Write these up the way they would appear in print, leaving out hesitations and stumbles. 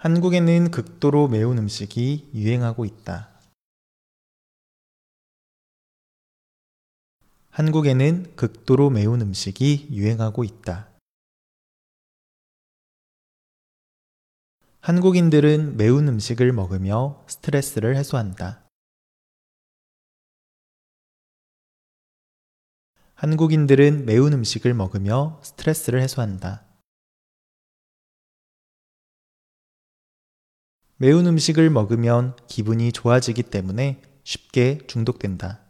한국에는 극도로 매운 음식이 유행하고 있다. 한국에는 극도로 매운 음식이 유행하고 있다. 한국인들은 매운 음식을 먹으며 스트레스를 해소한다. 한국인들은 매운 음식을 먹으며 스트레스를 해소한다. 매운 음식을 먹으면 기분이 좋아지기 때문에 쉽게 중독된다.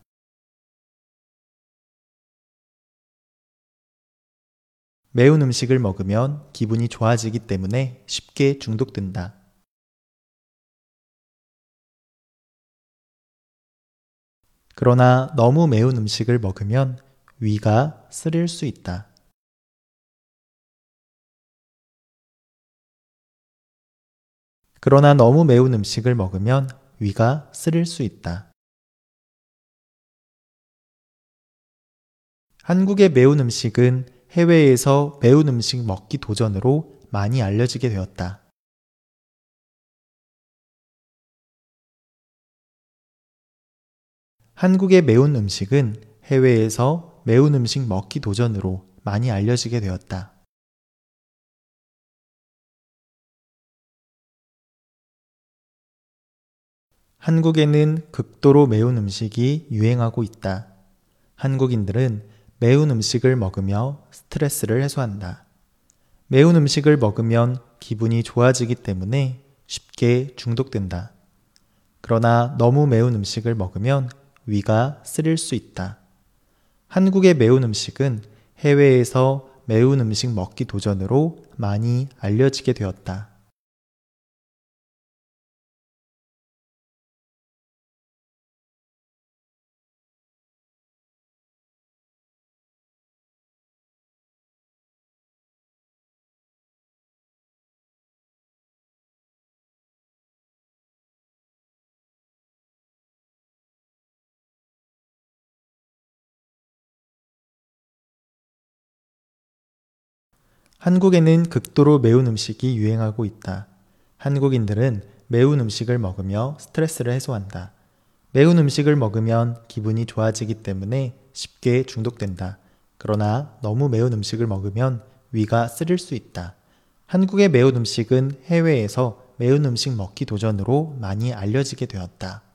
매운 음식을 먹으면 기분이 좋아지기 때문에 쉽게 중독된다. 그러나 너무 매운 음식을 먹으면 위가 쓰릴 수 있다. 그러나 너무 매운 음식을 먹으면 위가 쓰릴 수 있다. 한국의 매운 음식은 해외에서 매운 음식 먹기 도전으로 많이 알려지게 되었다. 한국의 매운 음식은 해외에서 매운 음식 먹기 도전으로 많이 알려지게 되었다. 한국에는 극도로 매운 음식이 유행하고 있다. 한국인들은 매운 음식을 먹으며 스트레스를 해소한다. 매운 음식을 먹으면 기분이 좋아지기 때문에 쉽게 중독된다. 그러나 너무 매운 음식을 먹으면 위가 쓰릴 수 있다. 한국의 매운 음식은 해외에서 매운 음식 먹기 도전으로 많이 알려지게 되었다. 한국에는 극도로 매운 음식이 유행하고 있다. 한국인들은 매운 음식을 먹으며 스트레스를 해소한다. 매운 음식을 먹으면 기분이 좋아지기 때문에 쉽게 중독된다. 그러나 너무 매운 음식을 먹으면 위가 쓰릴 수 있다. 한국의 매운 음식은 해외에서 매운 음식 먹기 도전으로 많이 알려지게 되었다.